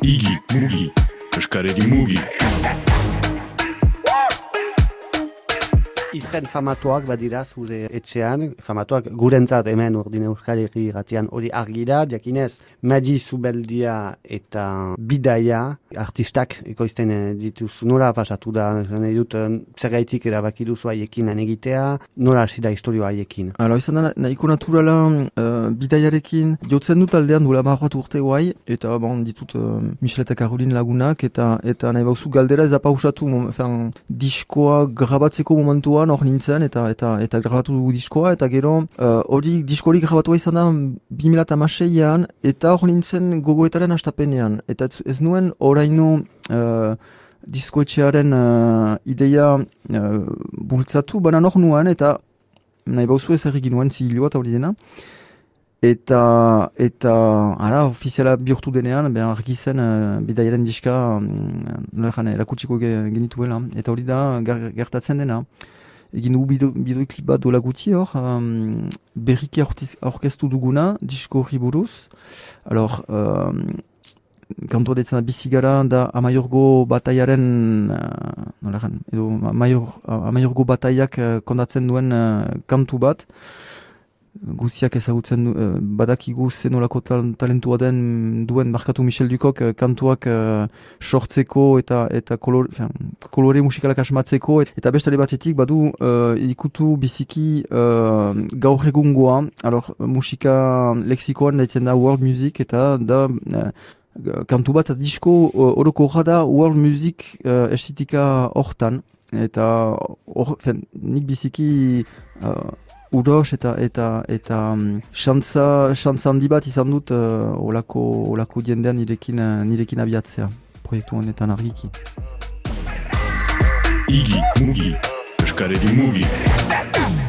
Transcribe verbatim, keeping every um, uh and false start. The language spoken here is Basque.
Igi, mugi, eskareri mugi. Izen famatuak badira zure etxean, famatuak gurentzat hemen Urdin Euskal Herri irratian hori argi da, jakinez Madi Zubeldia eta Bidaia artistak ekoizten dituzu. Nola pasatu da, nahi dut, zergaitik erabaki duzu haiekin lan egitea, nola hasi da historioa haiekin? Hala, izan da, nahiko naturala uh, Bidaiarekin jotzen dut aldean duela marrat urte guai, eta bon, ditut uh, Michel eta Caroline lagunak, eta eta nahi bauzu galdera ez da pausatu, mom, diskoa grabatzeko momentuan hor nintzen, eta eta eta grabatu dugu diskoa, eta gero hori uh, diskorik grabatua izan da bi mila hamaseian, eta hor nintzen gogoetaren hastapenean, eta ez nuen oraino uh, diskoetxearen uh, ideia uh, bultzatu, baina hor nuen, eta nahi bauzu ez errik nuen zihiloa eta hori dena, eta eta ara ofiziala bihurtu denean, ben argi zen uh, Bidaiaren diska um, erakutsiko genituela, eta hori da gertatzen dena. Egin dugu bideoklip bat dola guti hor, um, berriki aurkeztu duguna, disko horri buruz. Alors, um, kantua detzen da bizigara da Amaiorgo bataiaren, uh, nolaren, edo Amaior, Amaiorgo bataiak uh, kondatzen duen uh, kantu bat. Guziak ezagutzen uh, badakigu zenolako tal- talentua den duen markatu Michel Dukok uh, kantuak uh, sortzeko eta eta kolor, fin, kolore musikalak asmatzeko, et, eta bestale batetik badu uh, ikutu biziki uh, gaur egungoa, alor musika lexikoan daitzen da world music, eta da uh, kantu bat disko uh, oroko da world music uh, estetika hortan, eta or, fin, nik biziki uh, uros eta eta eta xantza xantza handi bat izan dut uh, olako olako jendean nirekin uh, nirekin abiatzea proiektu honetan argiki. Igi, mugi, eskareri mugi.